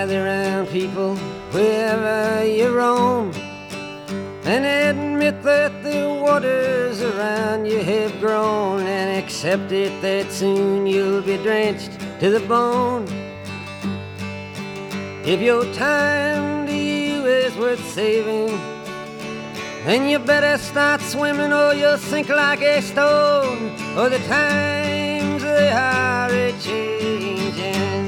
gather round people wherever you roam, and admit that the waters around you have grown, and accept it that soon you'll be drenched to the bone. If your time to you is worth saving, then you better start swimming or you'll sink like a stone, or the times they are a-changing.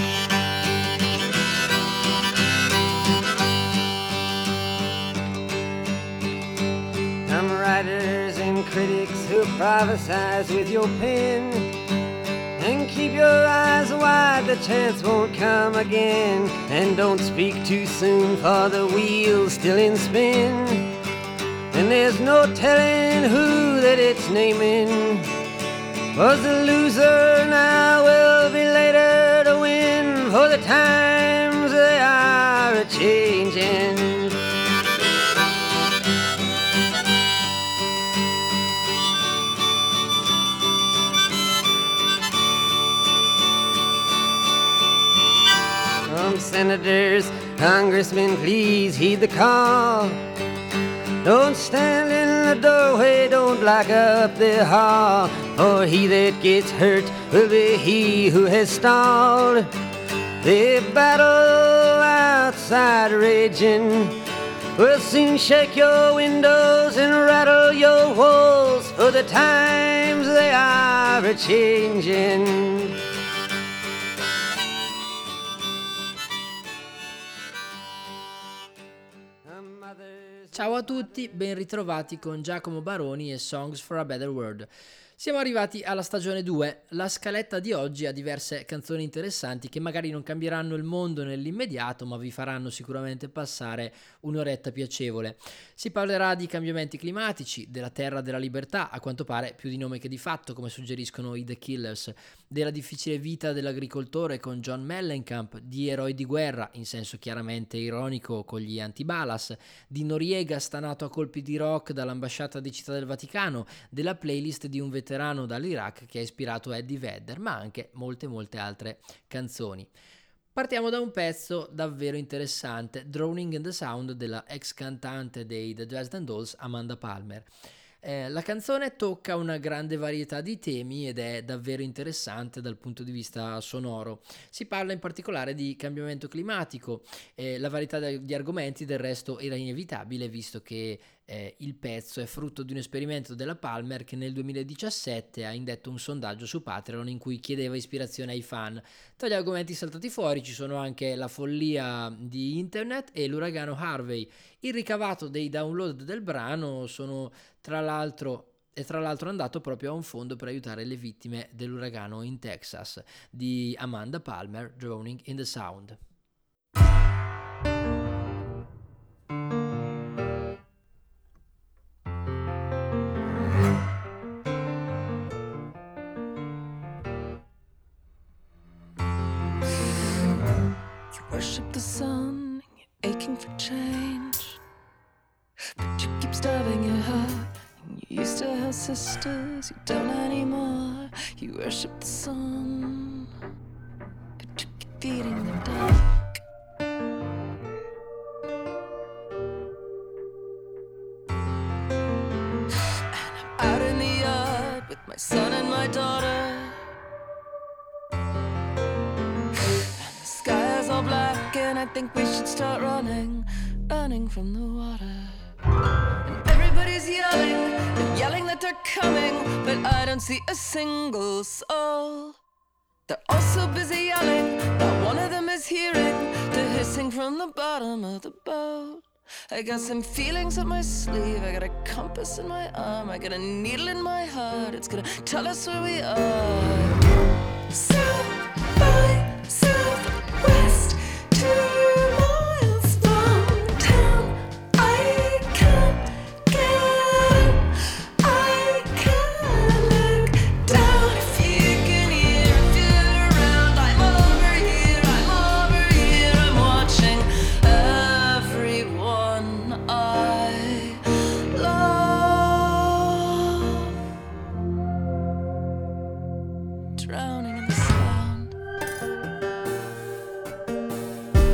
Some writers and critics who prophesize with your pen, and keep your eyes wide, the chance won't come again. And don't speak too soon, for the wheel's still in spin, and there's no telling who that it's naming. Was the loser now will be later to win, for the times they are a-changing. Senators, congressmen, please heed the call. Don't stand in the doorway, don't block up the hall, for he that gets hurt will be he who has stalled. The battle outside raging will soon shake your windows and rattle your walls, for the times they are a-changing. Ciao a tutti, ben ritrovati con Giacomo Baroni e Songs for a Better World. Siamo arrivati alla stagione 2, la scaletta di oggi ha diverse canzoni interessanti che magari non cambieranno il mondo nell'immediato, ma vi faranno sicuramente passare un'oretta piacevole. Si parlerà di cambiamenti climatici, della terra della libertà, a quanto pare più di nome che di fatto, come suggeriscono i The Killers, della difficile vita dell'agricoltore con John Mellencamp, di eroi di guerra, in senso chiaramente ironico con gli anti-Balas, di Noriega stanato a colpi di rock dall'ambasciata di Città del Vaticano, della playlist di un veterano dall'Iraq che ha ispirato Eddie Vedder, ma anche molte altre canzoni. Partiamo da un pezzo davvero interessante, Drowning in the Sound della ex cantante dei The Dresden Dolls Amanda Palmer. La canzone tocca una grande varietà di temi ed è davvero interessante dal punto di vista sonoro. Si parla in particolare di cambiamento climatico, la varietà di argomenti del resto era inevitabile visto che il pezzo è frutto di un esperimento della Palmer che nel 2017 ha indetto un sondaggio su Patreon in cui chiedeva ispirazione ai fan. Tra gli argomenti saltati fuori ci sono anche la follia di internet e l'uragano Harvey. Il ricavato dei download del brano sono tra l'altro andato proprio a un fondo per aiutare le vittime dell'uragano in Texas di Amanda Palmer, Drowning in the Sound. Worship the sun, you're aching for change, but you keep starving your heart. And you used to have sisters, you don't anymore. You worship the sun, but you keep feeding the dark. And I'm out in the yard with my son and my daughter. Black, and I think we should start running from the water. And everybody's yelling and yelling that they're coming, but I don't see a single soul. They're all so busy yelling, not one of them is hearing the hissing from the bottom of the boat. I got some feelings up my sleeve, I got a compass in my arm, I got a needle in my heart, it's gonna tell us where we are. South by Southwest, 2 miles from town. I can't get up, I can't look down. If you can hear, if you're around, I'm over here, I'm watching everyone I love drowning in the sound.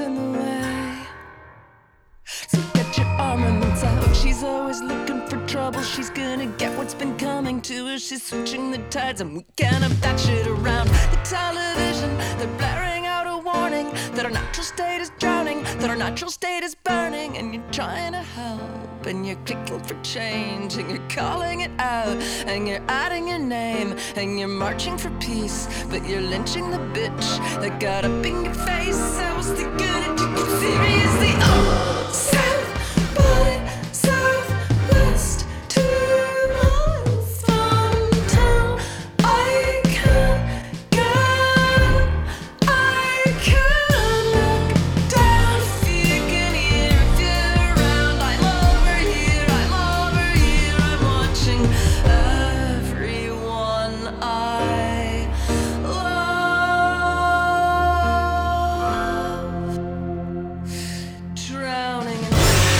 in the way. So get your armaments out. She's always looking for trouble. She's gonna get what's been coming to her. She's switching the tides and we can't have that shit around. The television, they're blaring out a warning that our natural state is drowning, that our natural state is burning. And you're trying to help and you're kicking for change and you're calling it out and you're adding your name and you're marching for peace, but you're lynching the bitch that got up in your face. I was the good and took it seriously. Oh, South by Southwest, 2 miles from town. I can't get, I can't look down. If you can hear, if you're around, I'm over here, I'm watching everyone I love drowning in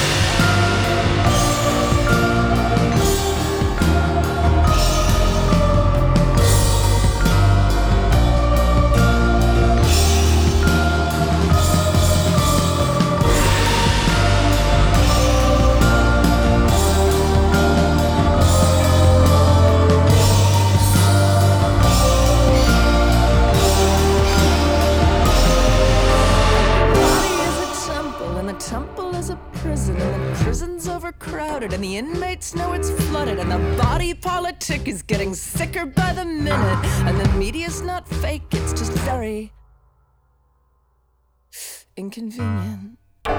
temple is a prison, and the prison's overcrowded, and the inmates know it's flooded, and the body politic is getting sicker by the minute, and the media's not fake, it's just very inconvenient.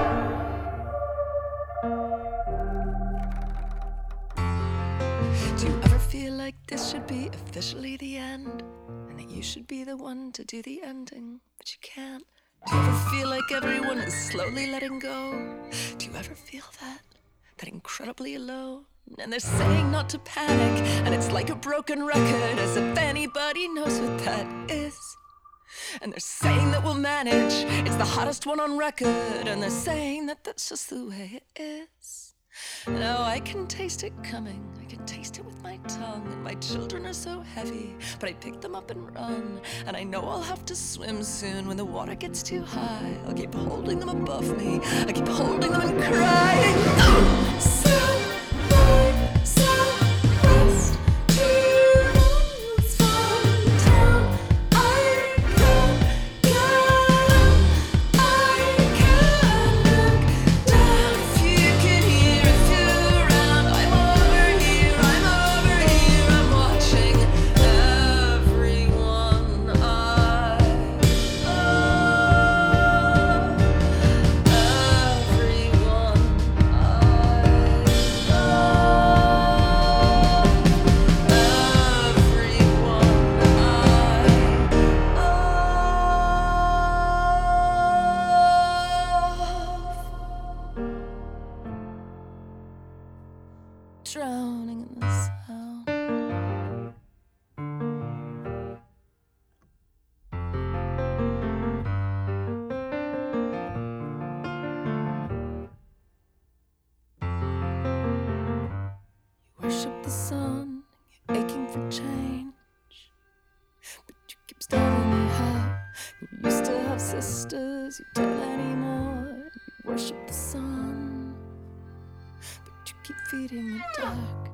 Do you ever feel like this should be officially the end, and that you should be the one to do the ending, but you can't? Do you ever feel like everyone is slowly letting go? Do you ever feel that incredibly alone? And they're saying not to panic, and it's like a broken record, as if anybody knows what that is. And they're saying that we'll manage, it's the hottest one on record, and they're saying that that's just the way it is. Now I can taste it coming, I can taste it with my tongue, and my children are so heavy, but I pick them up and run, and I know I'll have to swim soon when the water gets too high. I'll keep holding them above me, I keep holding them and crying. Oh, South by Southwest, 2 miles from town. I can't get, I can't look down. If you can hear, if you're around, I'm over here, I'm watching everyone I love, everyone drowning in the sound. You worship the sun, you're aching for change, but you keep telling me how you used to have sisters, you don't anymore. You worship the sun, but you keep feeding the dark.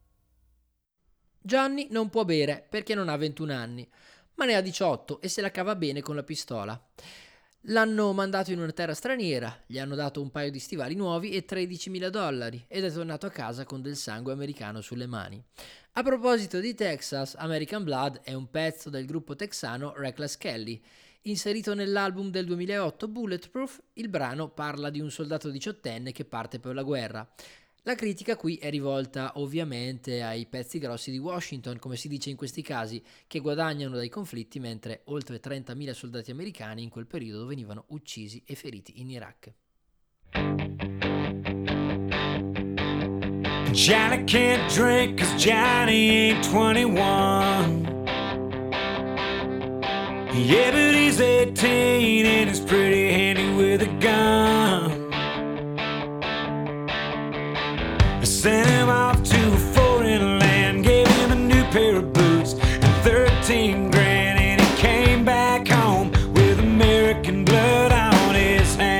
Johnny non può bere perché non ha 21 anni, ma ne ha 18 e se la cava bene con la pistola. L'hanno mandato in una terra straniera, gli hanno dato un paio di stivali nuovi e $13,000 ed è tornato a casa con del sangue americano sulle mani. A proposito di Texas, American Blood è un pezzo del gruppo texano Reckless Kelly. Inserito nell'album del 2008 Bulletproof, il brano parla di un soldato 18enne che parte per la guerra. La critica qui è rivolta ovviamente ai pezzi grossi di Washington, come si dice in questi casi, che guadagnano dai conflitti mentre oltre 30.000 soldati americani in quel periodo venivano uccisi e feriti in Iraq. Johnny can't drink 'cause Johnny ain't 21. Yeah, but he's 18 and he's pretty handy with a gun. I sent him off to a foreign land, gave him a new pair of boots and 13 grand, and he came back home with American blood on his hands.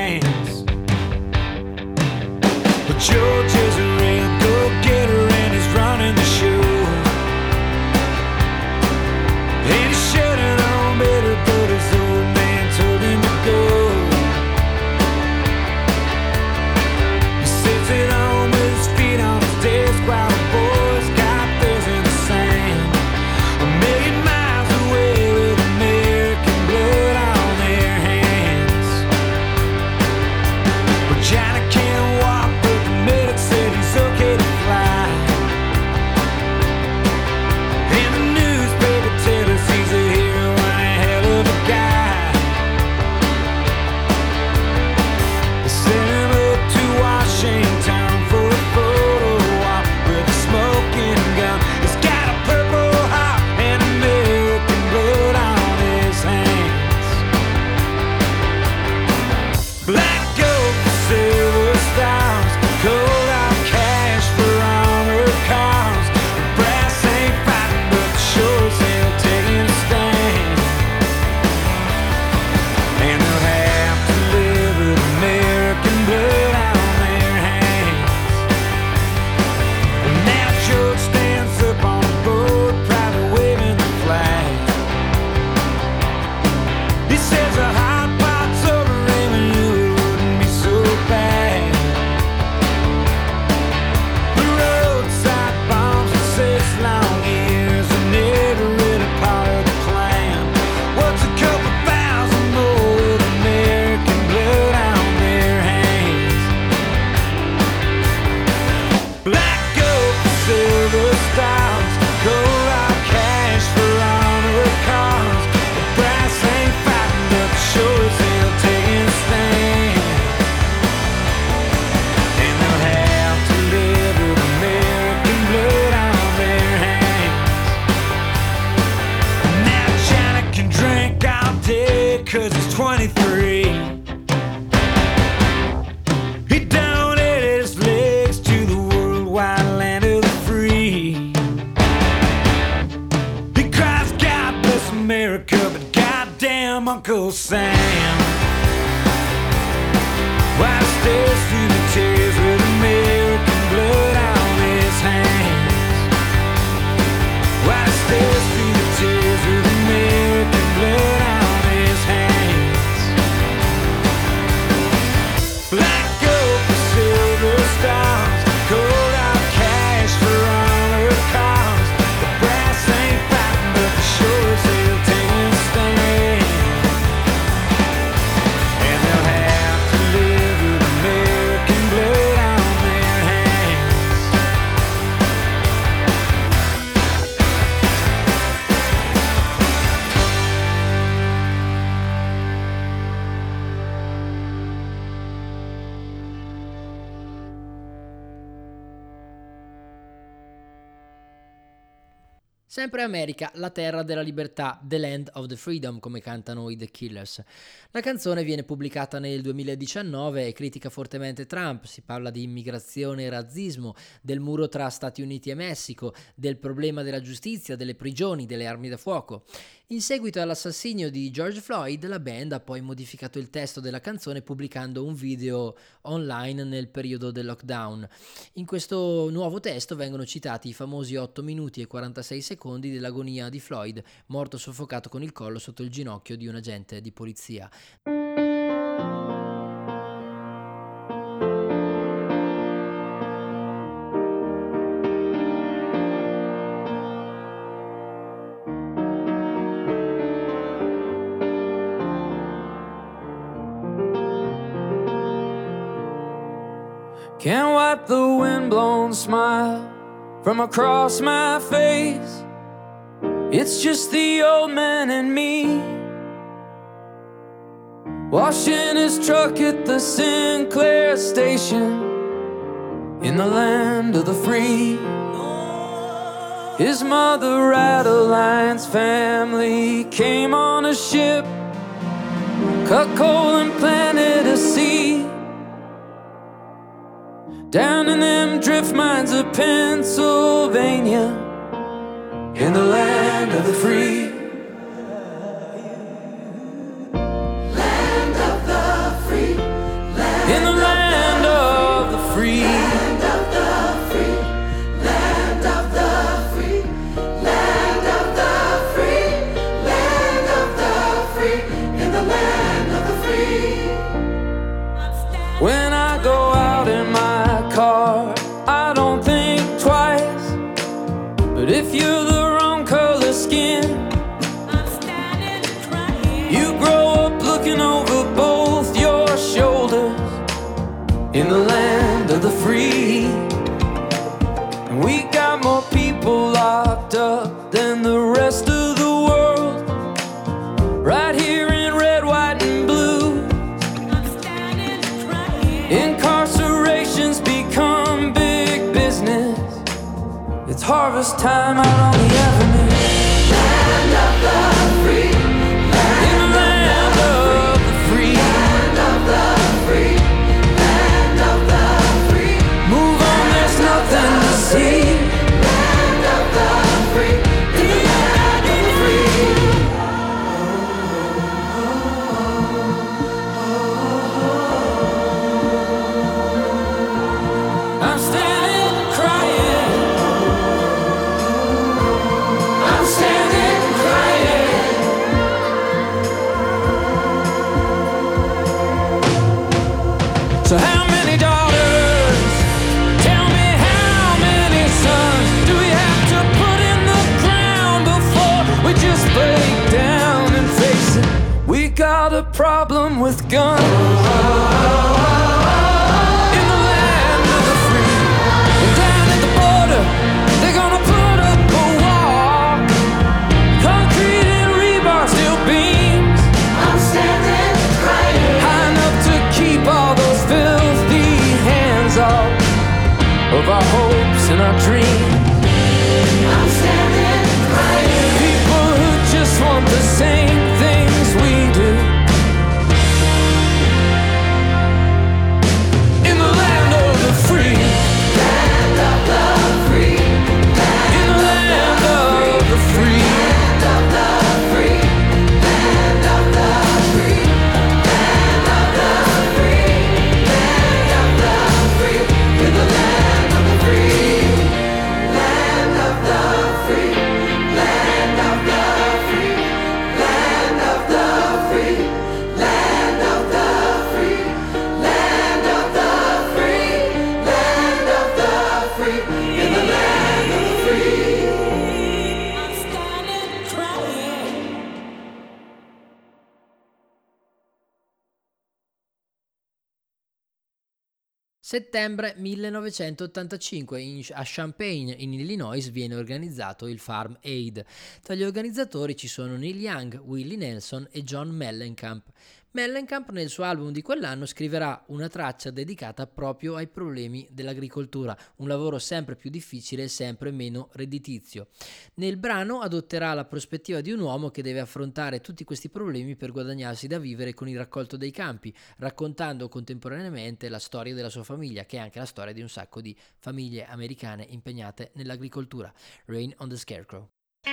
Sam. Why stares through the tears with American blood on his hands? Why stares through the tears with American blood on his hands? Black gold for silver stars, cold out cash for honor cars. The brass ain't fighting, but the sure as hell taking a stand. And they'll have to live with American blood on their hands. Sempre America, la terra della libertà, The Land of the Freedom, come cantano i The Killers. La canzone viene pubblicata nel 2019 e critica fortemente Trump. Si parla di immigrazione e razzismo, del muro tra Stati Uniti e Messico, del problema della giustizia, delle prigioni, delle armi da fuoco. In seguito all'assassinio di George Floyd, la band ha poi modificato il testo della canzone pubblicando un video online nel periodo del lockdown. In questo nuovo testo vengono citati i famosi 8 minuti e 46 secondi dell'agonia di Floyd, morto soffocato con il collo sotto il ginocchio di un agente di polizia. Can't wipe the windblown smile from across my face. It's just the old man and me, washing his truck at the Sinclair station in the land of the free. His mother, Adeline's family, came on a ship, cut coal and planted a seed down in them drift mines of Pennsylvania, in the land of the free. Land of the free. In the land of the free. Land of the free. Land of the free. Land of the free. Land of the free. In the land of the free. When I go out in my car, I don't think twice. But if you're the wrong color skin, you grow up looking over both your shoulders in the land of the free. And we got more people locked up than the rest of the world, right here in red, white, and blue. Incarceration's become big business. It's harvest time out on the avenue. Land of the free. In the land of the free. Land of the free. Land of the free. Move on, there's nothing to see. Land of the free. In the land of the free. I'm standing crying. I'm standing crying. So how many daughters? Tell me how many sons do we have to put in the ground before we just break down and face it? We got a problem with guns. In the land of the free. And down at the border, they're gonna put up a wall. Concrete and rebar, steel beams, I'm standing crying. high enough to keep all those filthy hands off of our hopes and our dreams. I'm standing crying. People who just want the same things we do. In the land of the free. Land of the free. In the land of the free. Land of the free. Land of the free. Settembre 1985 a Champaign in Illinois viene organizzato il Farm Aid. Tra gli organizzatori ci sono Neil Young, Willie Nelson e John Mellencamp. Mellencamp nel suo album di quell'anno scriverà una traccia dedicata proprio ai problemi dell'agricoltura, un lavoro sempre più difficile e sempre meno redditizio. Nel brano adotterà la prospettiva di un uomo che deve affrontare tutti questi problemi per guadagnarsi da vivere con il raccolto dei campi, raccontando contemporaneamente la storia della sua famiglia, che è anche la storia di un sacco di famiglie americane impegnate nell'agricoltura. Rain on the Scarecrow.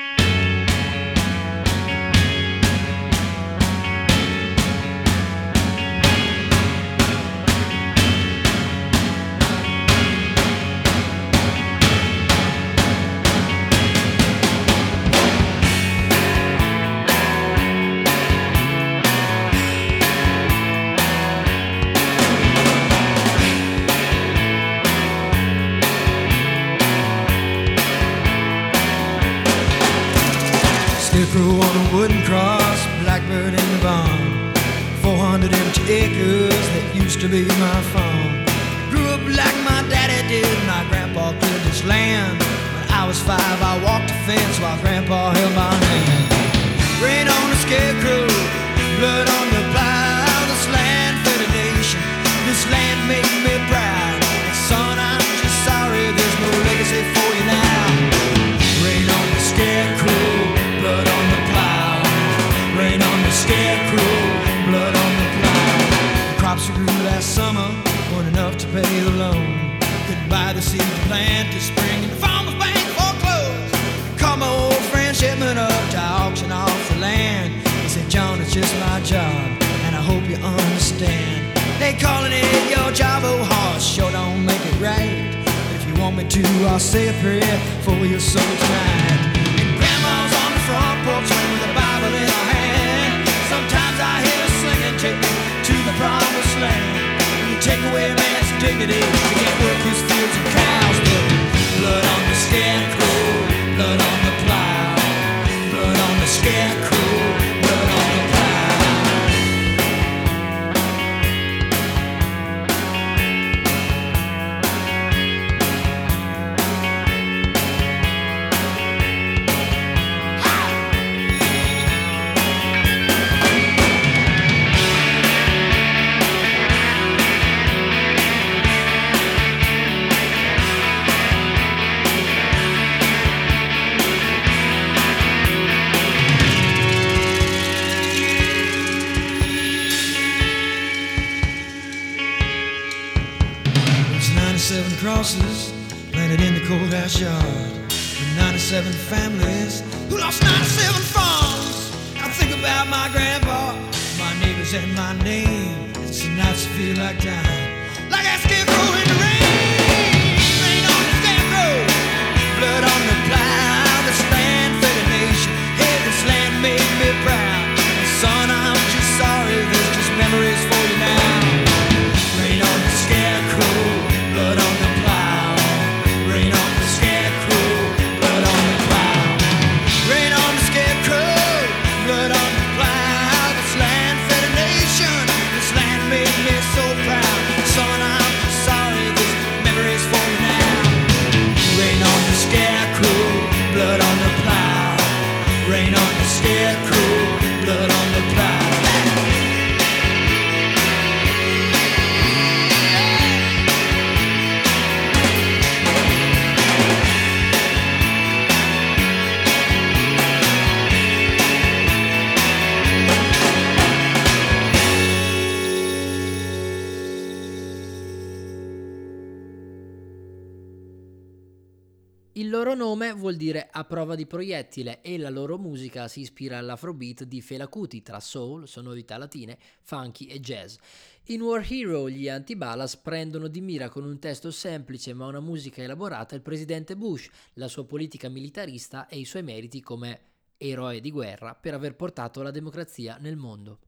Scarecrow on a wooden cross, blackbird in the barn. 400 empty acres that used to be my farm. Grew up like my daddy did, my grandpa cleared this land. When I was 5, I walked the fence while grandpa held my hand. Rain on the scarecrow, blood on the plow. This land fed a nation, this land made me proud. And son, I'm just sorry there's no legacy for you now. Rain on the scarecrow, blood on the plow. Rain on the scarecrow, blood on the plow. The crops we grew last summer weren't enough to pay the loan. Couldn't buy the seed to plant this spring, and the farmer's bank foreclosed. Called my old friend Shipman up to auction off the land. He said, John, it's just my job, and I hope you understand. They calling it your job, oh horse, sure don't make it right. But if you want me to, I'll say a prayer for your soul tonight. And grandma's on the front porch swing with a Bible in her hand. Sometimes I hear her singing, take me to the promised land. When you take away a man's dignity, you can't work his fields and cows. But blood on the scarecrow, blood on the plow. Blood on the scarecrow, blood on the plow. Crosses planted in the courthouse yard, with 97 families who lost 97 farms. I think about my grandpa, my neighbors, and my name. It's the nights that feel like dying, like that scarecrow in the rain. Rain on the scarecrow, blood on the plow. This land fed a nation, yeah, this land made me proud. And son, I'm just sorry, there's just memories for you now. Rain on the scarecrow, blood on the plow. Rain on the scarecrow, blood on the plow. Rain on the scarecrow, blood on the plow. This land fed a nation, this land made me so proud. Son, I'm just sorry, this memory's for you now. Rain on the scarecrow, blood on the plow. Rain on the scarecrow, blood on the plow. Il loro nome vuol dire a prova di proiettile e la loro musica si ispira all'afrobeat di Fela Kuti tra soul, sonorità latine, funky e jazz. In War Hero gli Antibalas prendono di mira con un testo semplice ma una musica elaborata il presidente Bush, la sua politica militarista e i suoi meriti come eroe di guerra per aver portato la democrazia nel mondo.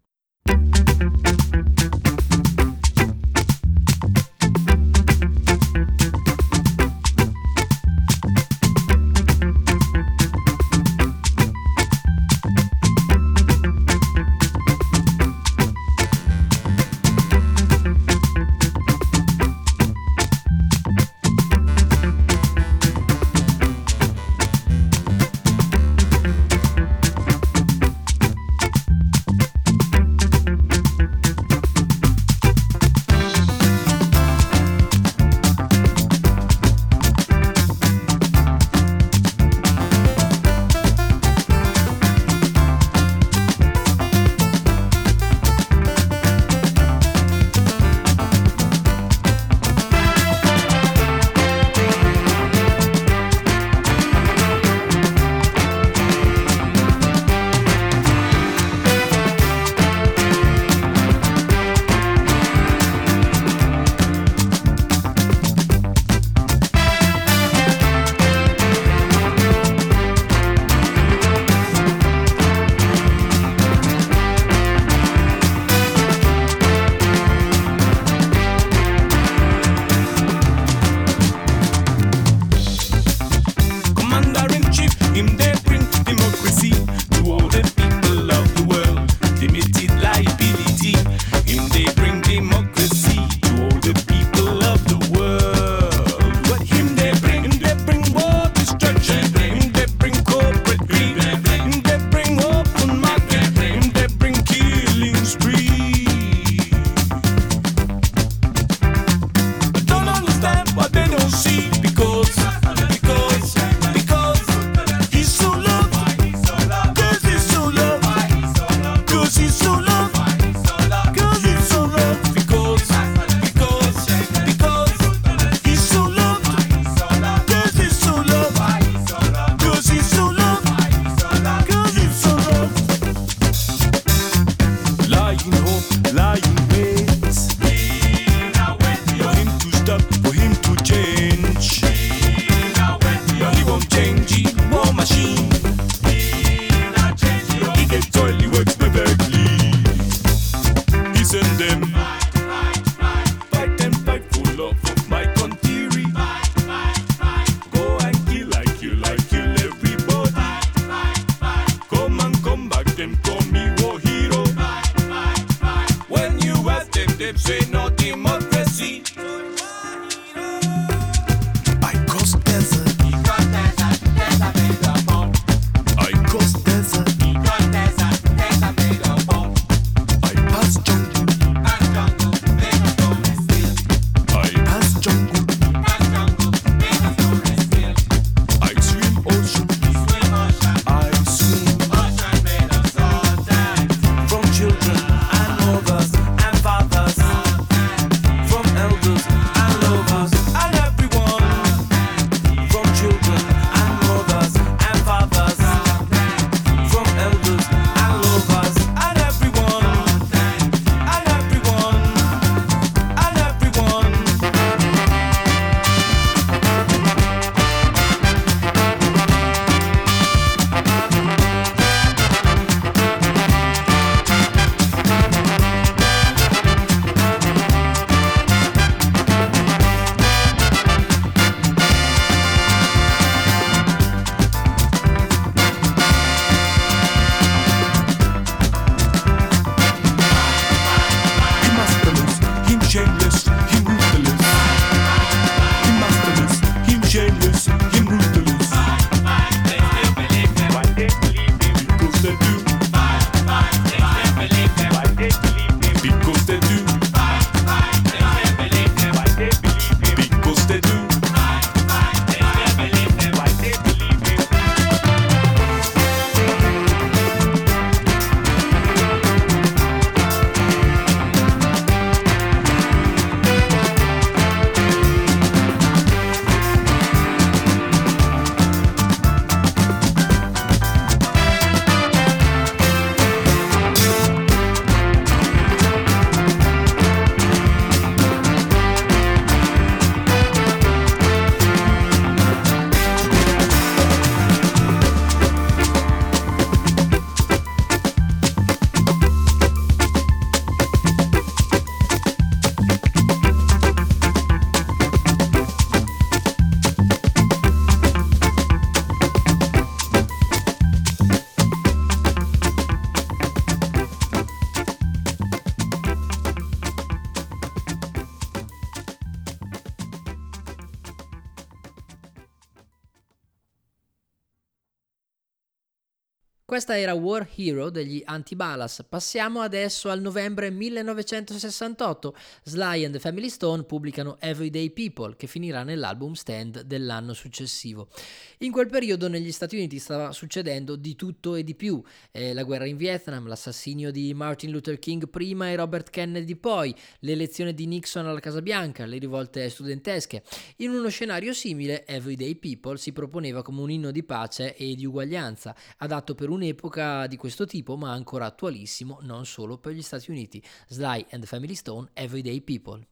Questa era War Hero degli Antibalas. Passiamo adesso al novembre 1968. Sly and the Family Stone pubblicano Everyday People, che finirà nell'album Stand dell'anno successivo. In quel periodo negli Stati Uniti stava succedendo di tutto e di più. La guerra in Vietnam, l'assassinio di Martin Luther King prima e Robert Kennedy poi, l'elezione di Nixon alla Casa Bianca, le rivolte studentesche. In uno scenario simile, Everyday People si proponeva come un inno di pace e di uguaglianza, adatto per un'epoca di questo tipo, ma ancora attualissimo non solo per gli Stati Uniti. Sly and the Family Stone, Everyday People.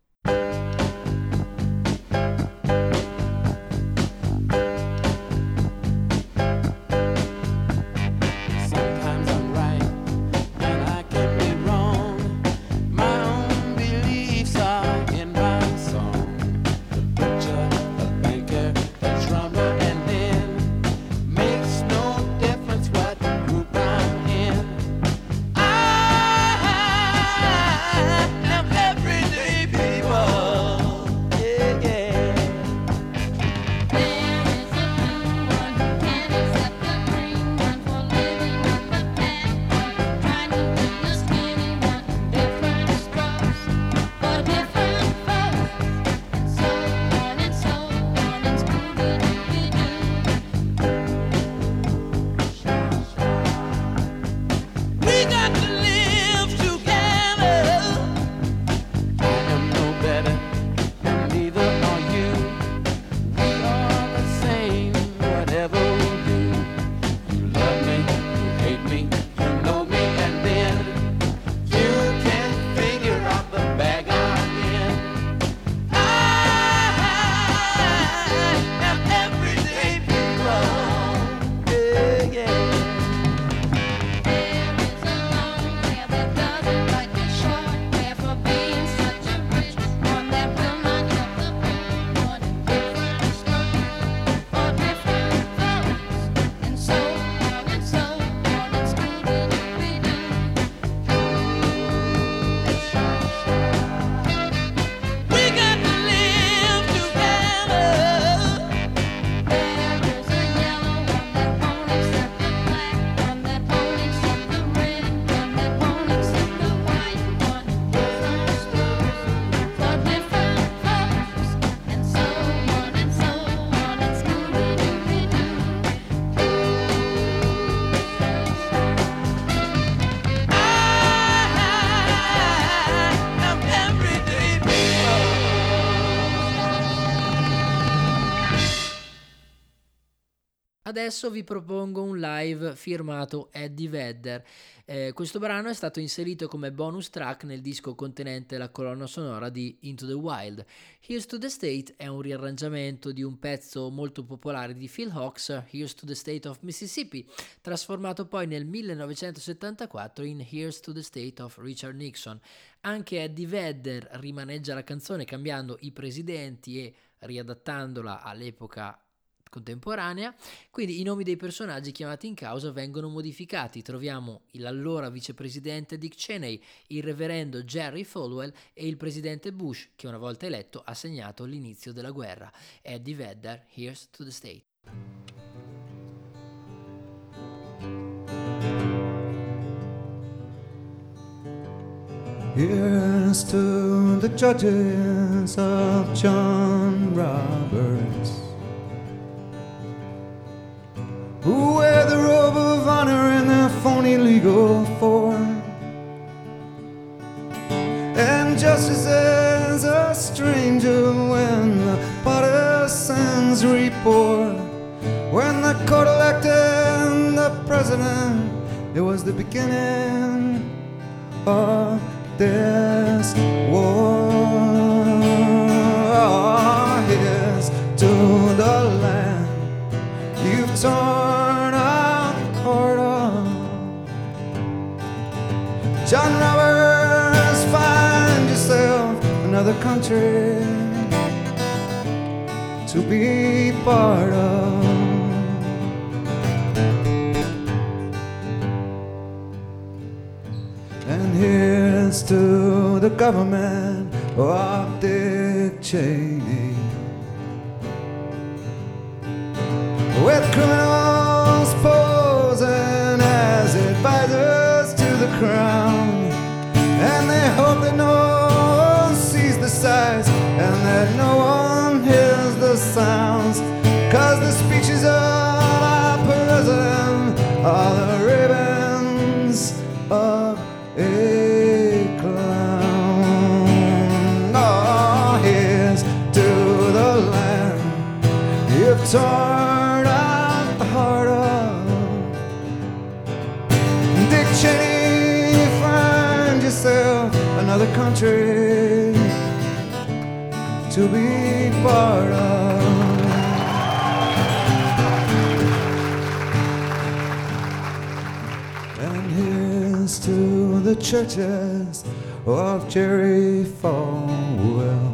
Adesso vi propongo un live firmato Eddie Vedder. Questo brano è stato inserito come bonus track nel disco contenente la colonna sonora di Into the Wild. Here's to the State è un riarrangiamento di un pezzo molto popolare di Phil Hawks, Here's to the State of Mississippi, trasformato poi nel 1974 in Here's to the State of Richard Nixon. Anche Eddie Vedder rimaneggia la canzone cambiando i presidenti e riadattandola all'epoca contemporanea, quindi i nomi dei personaggi chiamati in causa vengono modificati. Troviamo l'allora vicepresidente Dick Cheney, il reverendo Jerry Falwell e il presidente Bush, che una volta eletto ha segnato l'inizio della guerra. Eddie Vedder, Here's to the State. Here's to the judges of John Roberts, who wear the robe of honor in their phony legal form, and justice is a stranger when the partisans report. When the court elected the president, it was the beginning of this war. Here's to the land you've torn a cord of. John Roberts, find yourself another country to be part of. And here's to the government of Dick Cheney, with criminals posing as and that no one hears the sounds, 'cause the speeches of our president are the ravens of a clown. Oh, here's to the land you've torn out the heart of. Dick Cheney, find yourself another country to be part of. And here's to the churches of Jerry Falwell.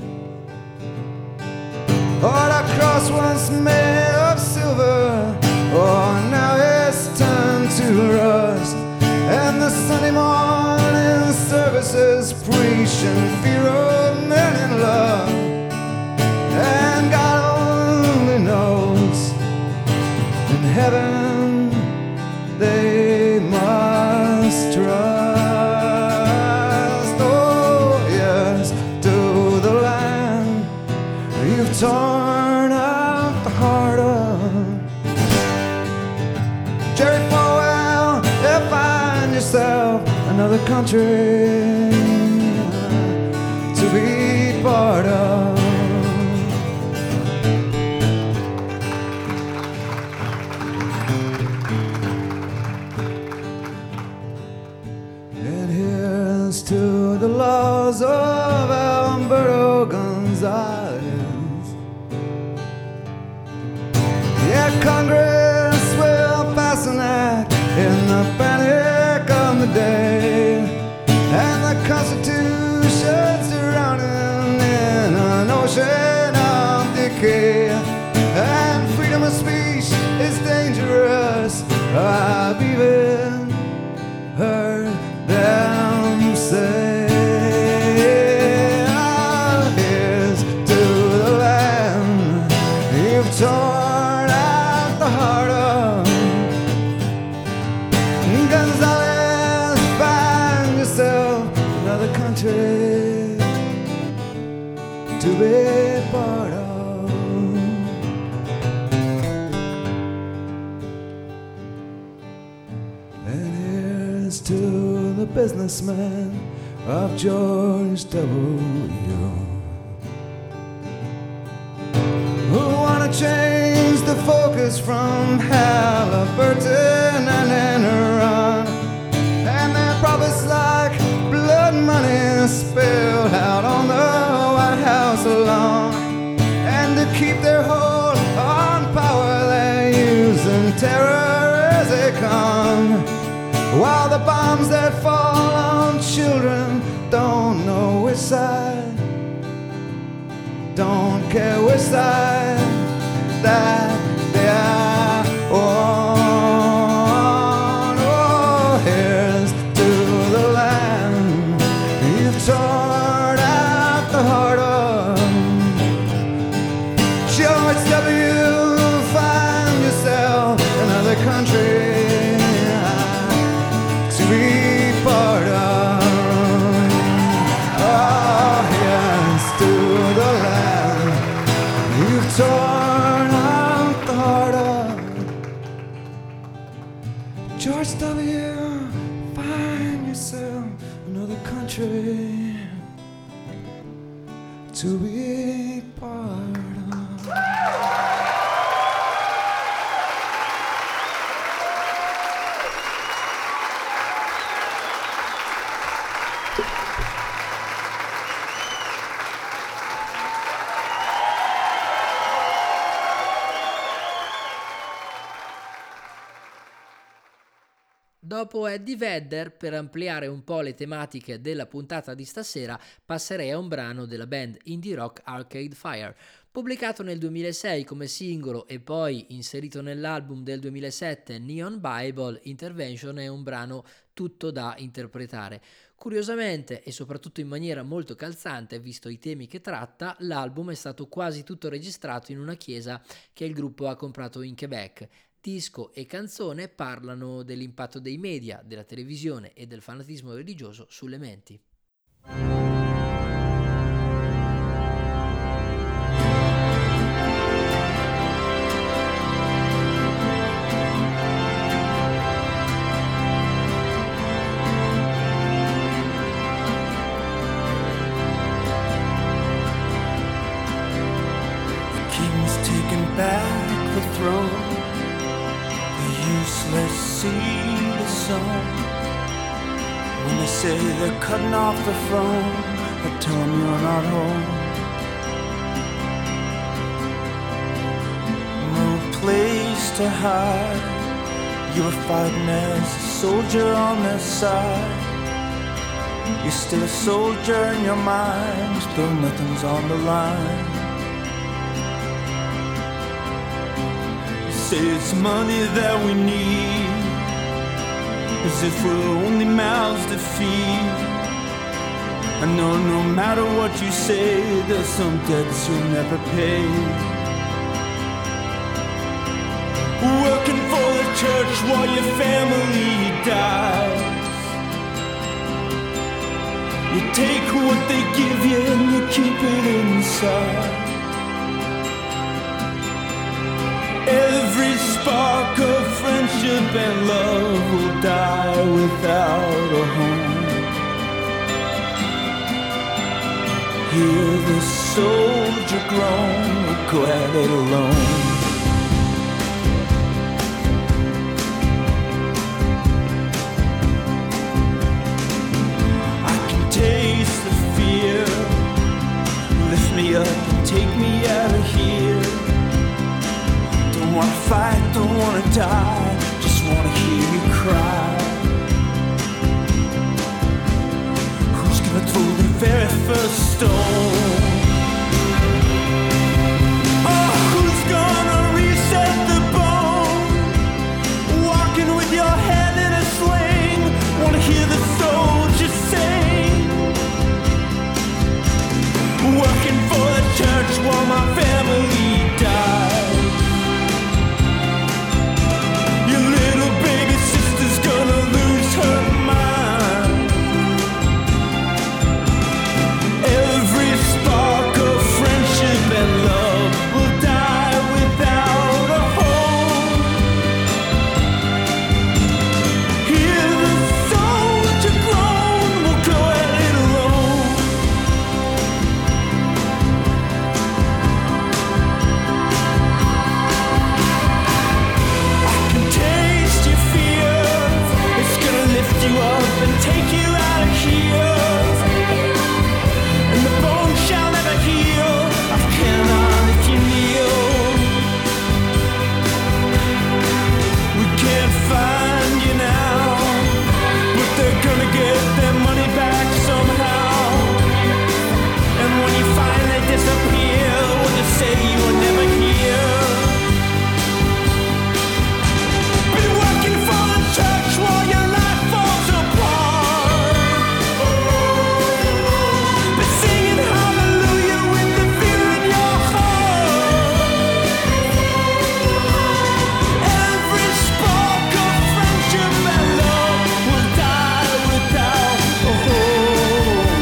Oh, that cross once made of silver, oh, now it's turned to rust. And the Sunday morning services preaching fear of men in love. And God only knows, in heaven they must trust. Oh, yes, to the land you've torn out the heart of. Jerry Falwell, you find yourself another country to be part of. And here's to the laws of Alberto Gonzalez. Yeah, Congress will pass an act in the panic of the day, and the Constitution's drowning in an ocean of decay. And freedom of speech is dangerous, I've even heard them say. Ah, here's to the land you've torn out the heart of. Gonzalez, find yourself another country to be part of. And here's to the businessman of George W. who wanna change the focus from Halliburton and Enron, and their profits like blood money spilled out on the White House lawn. And to keep their hold on power, they're using terror as they come, while the bombs that fall on children don't know which side, don't care which side that they are on. Oh, here's to the land you've torn out the heart of. George W., find yourself another country to be part of. Oh, yes, to the land you've torn out the heart of. George W., find yourself another country to be part of. Dopo Eddie Vedder, per ampliare un po' le tematiche della puntata di stasera, passerei a un brano della band indie rock Arcade Fire. Pubblicato nel 2006 come singolo e poi inserito nell'album del 2007 Neon Bible, Intervention è un brano tutto da interpretare. Curiosamente e soprattutto in maniera molto calzante, visto i temi che tratta, l'album è stato quasi tutto registrato in una chiesa che il gruppo ha comprato in Quebec. Disco e canzone parlano dell'impatto dei media, della televisione e del fanatismo religioso sulle menti. back the throne, the useless seed is sown. When they say they're cutting off the throne, I tell them you're not home. No place to hide, you were fighting as a soldier on their side. You're still a soldier in your mind, still nothing's on the line. You say it's money that we need, as if we're only mouths to feed. I know no matter what you say, there's some debts you'll never pay. Working for the church while your family dies. You take what they give you and you keep it inside. Every spark of friendship and love will die without a home. Hear the soldier groan, we're glad it alone. Taste the fear, lift me up and take me out of here. Don't wanna fight, don't wanna die, just wanna hear you cry. Who's gonna throw the very first stone? Oh, who's gonna reset the bone? Walking with your head in a sling, wanna hear the soldiers sing. Working for the church while my family dies. Your little baby sister's gonna lose her mind. Every spark of friendship and love will die without a home. Hear the soldier groan, we'll go at it alone. Taste your fear, it's gonna lift you up and take you out of here. And the bone shall never heal, I cannot if you kneel. We can't find you now, but they're gonna get their money back somehow. And when you finally disappear, we'll just say you were never here. Been working for the church while your life falls apart. Been singing hallelujah with the fear in your heart. Every spark of friendship and love will die without a home.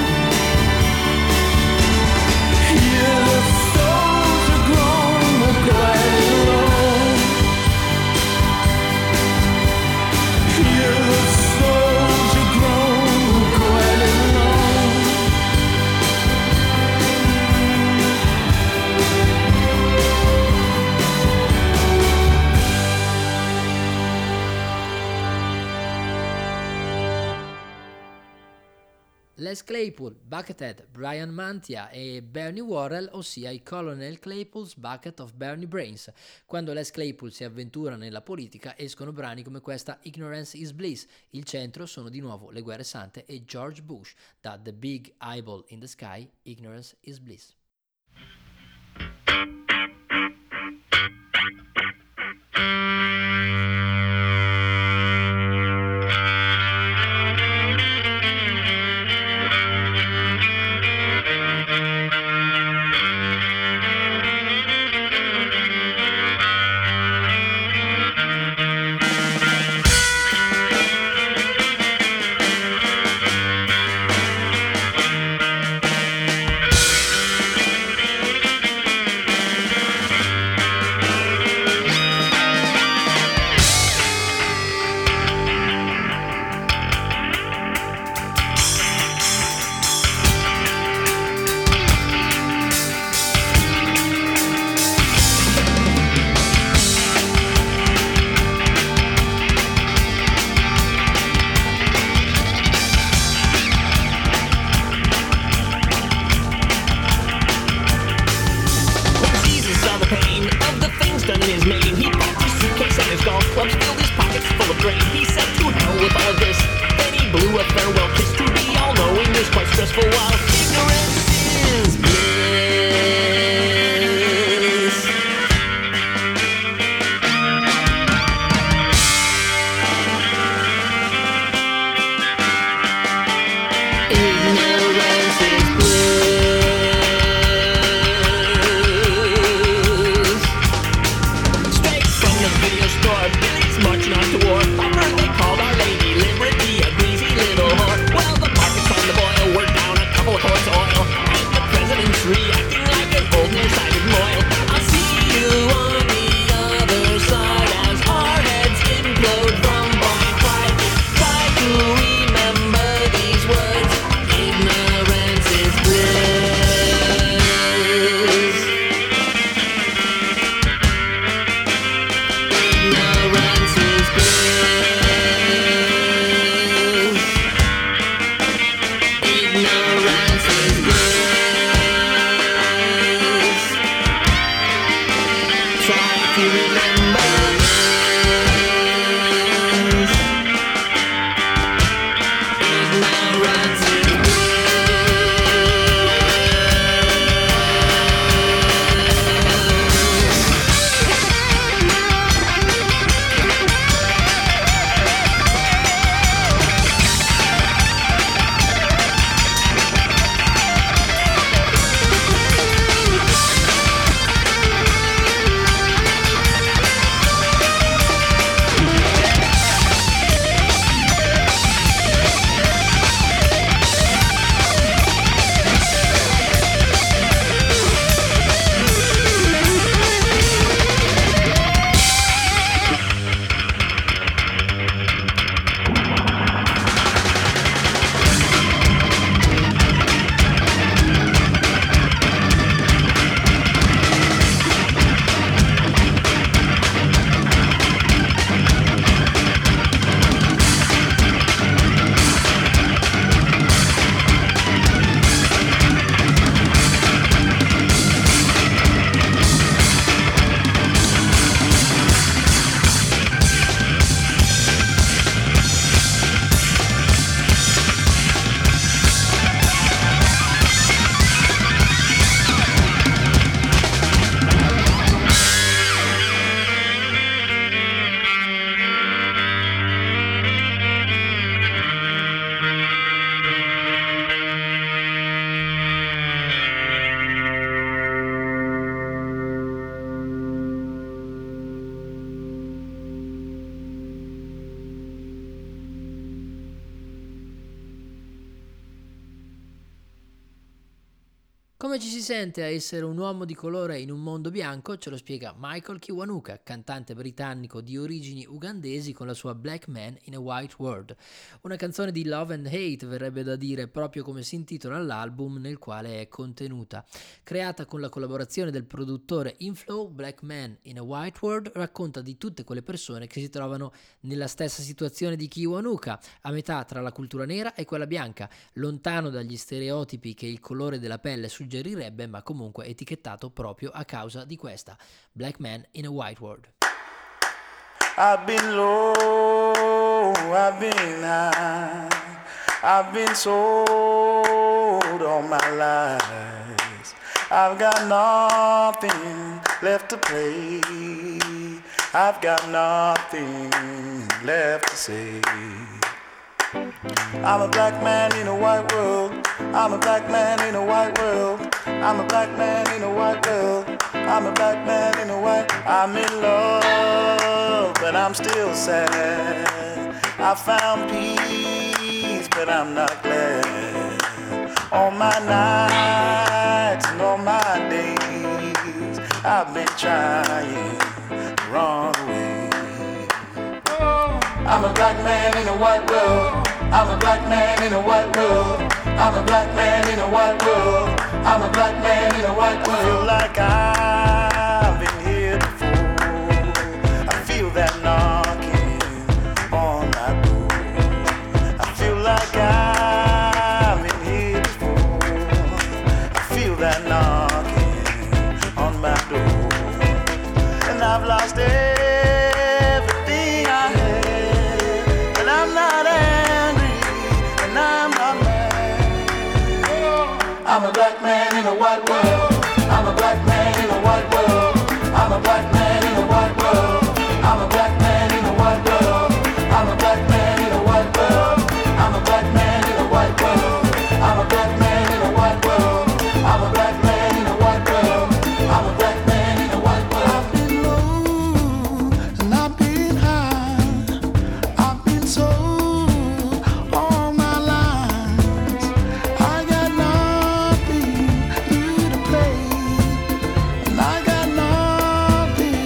Hear the soldier groan, we'll go at it alone. Hear the soldier groan, we'll go at it alone. Les Claypool, Buckethead, Brian Mantia e Bernie Worrell, ossia i Colonel Claypool's Bucket of Bernie Brains. Quando Les Claypool si avventura nella politica escono brani come questa Ignorance is Bliss. Il centro sono di nuovo le guerre sante e George Bush. Da The Big Eyeball in the Sky, Ignorance is Bliss. Come ci si sente a essere un uomo di colore in un mondo bianco? Ce lo spiega Michael Kiwanuka, cantante britannico di origini ugandesi con la sua Black Man in a White World. Una canzone di love and hate, verrebbe da dire, proprio come si intitola l'album nel quale è contenuta. Creata con la collaborazione del produttore Inflow, Black Man in a White World racconta di tutte quelle persone che si trovano nella stessa situazione di Kiwanuka, a metà tra la cultura nera e quella bianca, lontano dagli stereotipi che il colore della pelle suggerirebbe, ma comunque etichettato proprio a causa di questa. Black Man in a White World. I've been low, I've been high, I've been sold all my life. I've got nothing left to play, I've got nothing left to say. I'm a black man in a white world, I'm a black man in a white world, I'm a black man in a white world, I'm a black man in a white. I'm in love, but I'm still sad. I found peace, but I'm not glad. All my nights and all my days, I've been trying the wrong way. I'm a black man in a white world, I'm a black man in a white world, I'm a black man in a white world, I'm a black man in a white world. I feel like I've been here before, I feel that knocking on my door. I feel like I've been here before, I feel that knocking on my door. And I've lost everything I had, and I'm not angry, and I'm not mad. I'm a black man in a white world, I'm a black man in a white world, I'm a black man in a white world, I'm a black man in a white world, I'm a black man in a white world, I'm a black man in a white world, I'm a black man in a white world, I'm a black man in a white world, I'm a black man in a white world. I've been low and I've been high, I've been sold all my life. I got nothing new to play, and I got nothing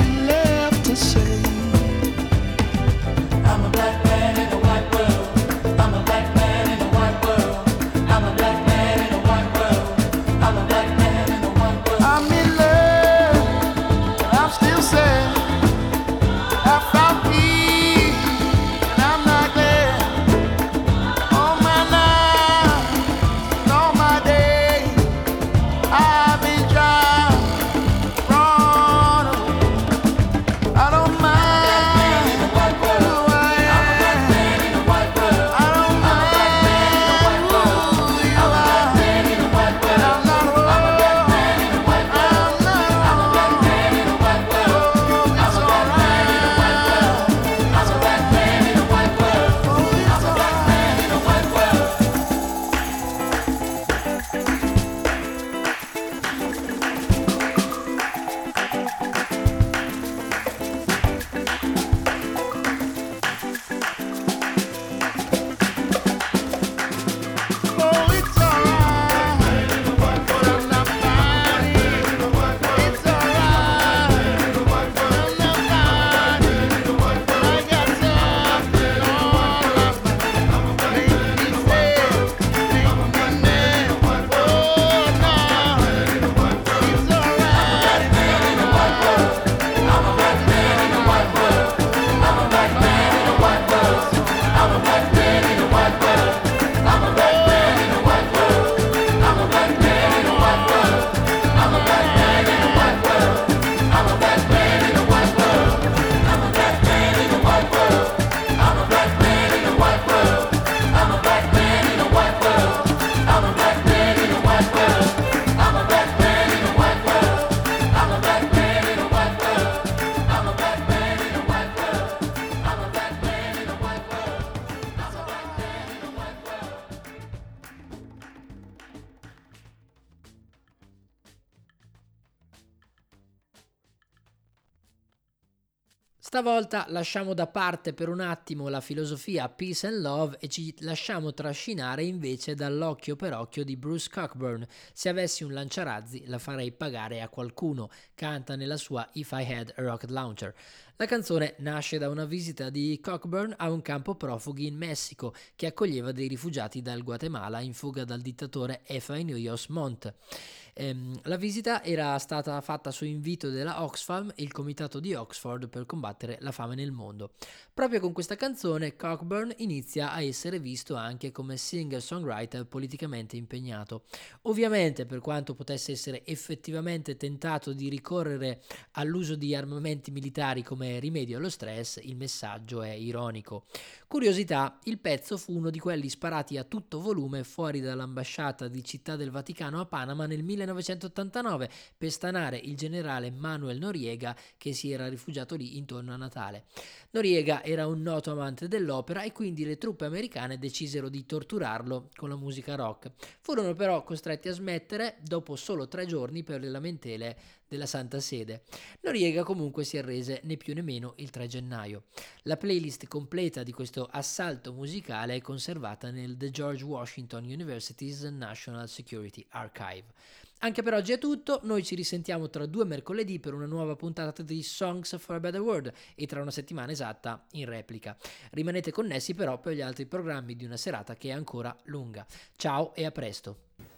Stavolta lasciamo da parte per un attimo la filosofia peace and love e ci lasciamo trascinare invece dall'occhio per occhio di Bruce Cockburn. Se avessi un lanciarazzi la farei pagare a qualcuno, canta nella sua If I Had a Rocket Launcher. La canzone nasce da una visita di Cockburn a un campo profughi in Messico che accoglieva dei rifugiati dal Guatemala in fuga dal dittatore Efraín Uyos Montt. La visita era stata fatta su invito della Oxfam, il comitato di Oxford per combattere la fame nel mondo. Proprio con questa canzone Cockburn inizia a essere visto anche come singer-songwriter politicamente impegnato. Ovviamente, per quanto potesse essere effettivamente tentato di ricorrere all'uso di armamenti militari come rimedio allo stress, il messaggio è ironico. Curiosità, il pezzo fu uno di quelli sparati a tutto volume fuori dall'ambasciata di Città del Vaticano a Panama nel 1989 per stanare il generale Manuel Noriega che si era rifugiato lì intorno a Natale. Noriega era un noto amante dell'opera e quindi le truppe americane decisero di torturarlo con la musica rock. Furono però costretti a smettere dopo solo 3 giorni per le lamentele della Santa Sede. Noriega comunque si arrese né più né meno il 3 gennaio. La playlist completa di questo assalto musicale è conservata nel The George Washington University's National Security Archive. Anche per oggi è tutto, noi ci risentiamo tra 2 mercoledì per una nuova puntata di Songs for a Better World e tra una settimana esatta in replica. Rimanete connessi però per gli altri programmi di una serata che è ancora lunga. Ciao e a presto!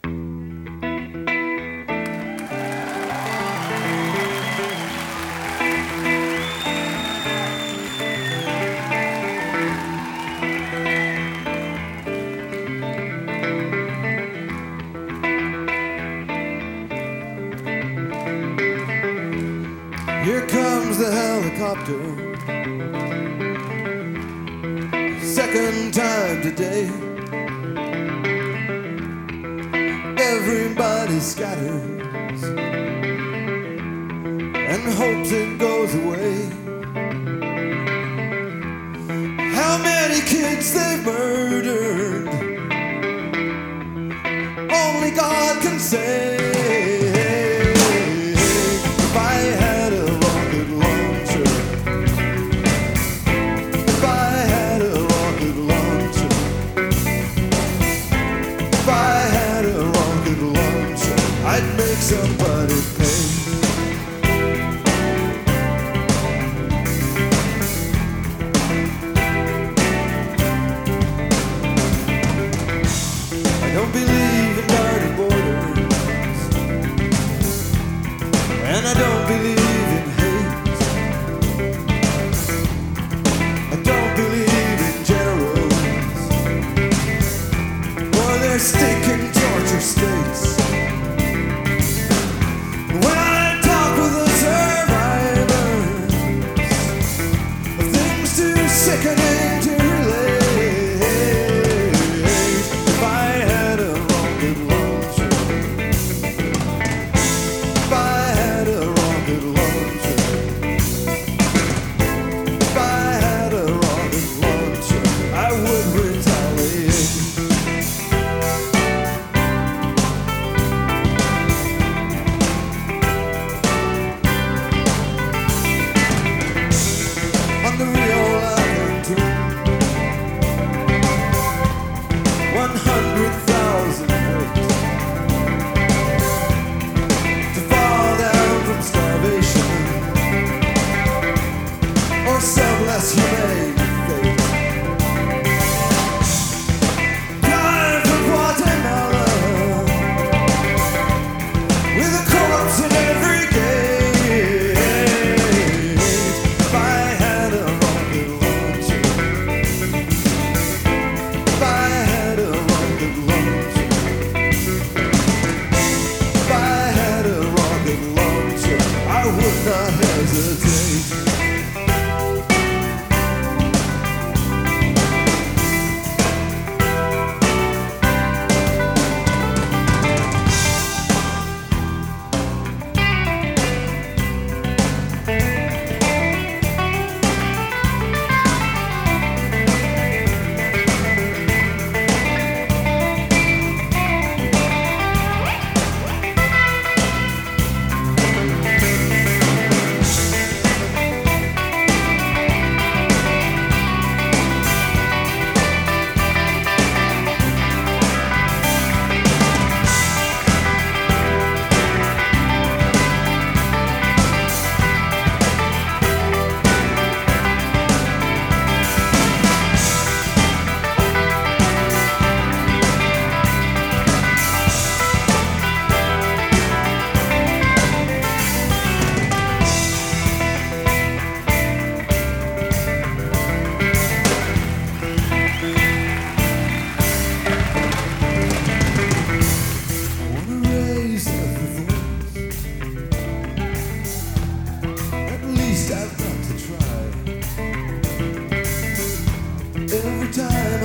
Here comes the helicopter, second time today. Everybody scatters and hopes it goes away. How many kids they've murdered, only God can say. If I had a rocket launcher, if I had a rocket launcher, if I had a rocket launcher, I'd make somebody pay. I don't believe in guarded borders, and I don't believe in hate. I don't believe in generals or their stinking torture states. When I talk with the survivors, things too sickening to relate. If I had a rocket launcher, if I had a rocket launcher, if I had a rocket launcher, I would retaliate. On the Rio Alto, 100,000 ways to fall down from starvation or some less humane fate. Drive from Guatemala with a corpse in every gate. If I had a rocket launcher, if I had a rocket launcher, if I had a rocket launcher, I would not hesitate.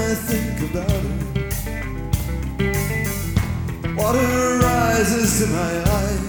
I think about her, water rises to my eyes.